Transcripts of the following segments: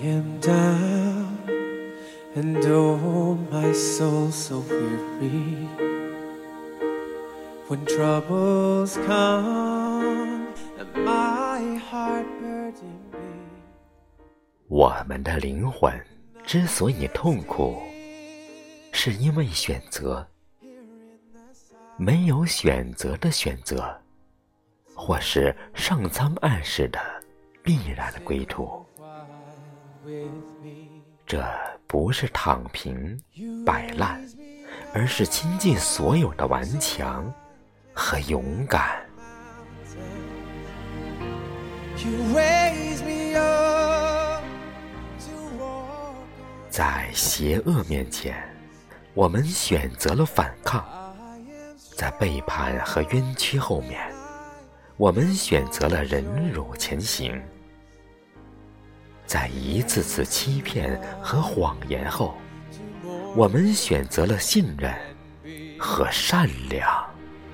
am down, and oh, my soul so weary. When troubles come, and my heart burden me. 我们的灵魂之所以痛苦，是因为选择。没有选择的选择，或是上苍暗示的必然的归途。这不是躺平摆烂，而是倾尽所有的顽强和勇敢。在邪恶面前，我们选择了反抗；在背叛和冤屈后面，我们选择了忍辱前行；在一次次欺骗和谎言后，我们选择了信任和善良。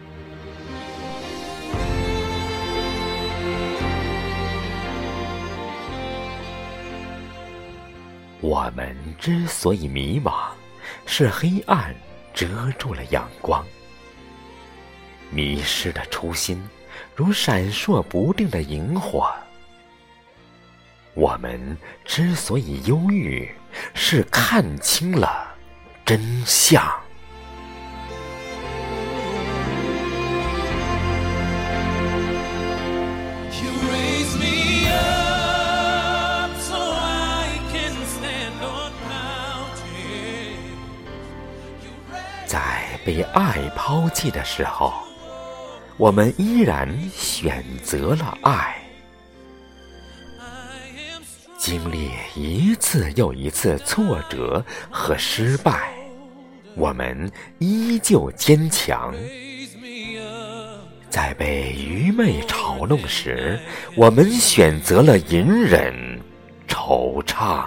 我们之所以迷茫，是黑暗遮住了阳光。迷失的初心，如闪烁不定的萤火。我们之所以忧郁，是看清了真相。在被爱抛弃的时候，我们依然选择了爱。经历一次又一次挫折和失败，我们依旧坚强。在被愚昧嘲弄时，我们选择了隐忍惆怅。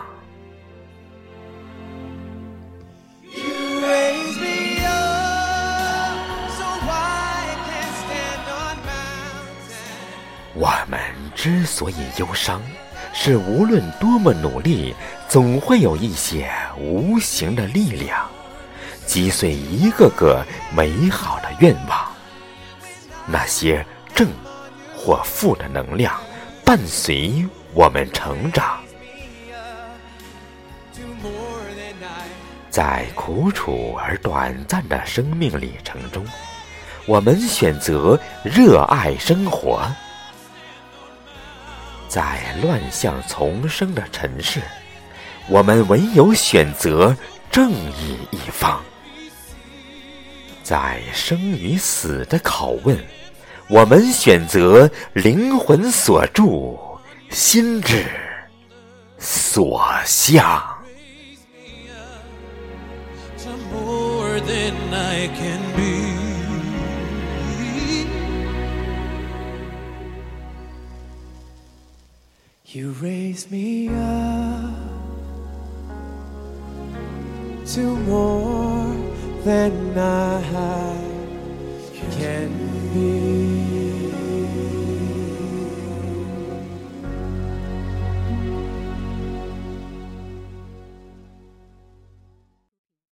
我们之所以忧伤，是无论多么努力，总会有一些无形的力量击碎一个个美好的愿望。那些正或负的能量伴随我们成长。在苦楚而短暂的生命里程中，我们选择热爱生活。在乱象丛生的尘世，我们唯有选择正义一方。在生与死的拷问，我们选择灵魂所住，心智所向。 You raise me up to more than I can be.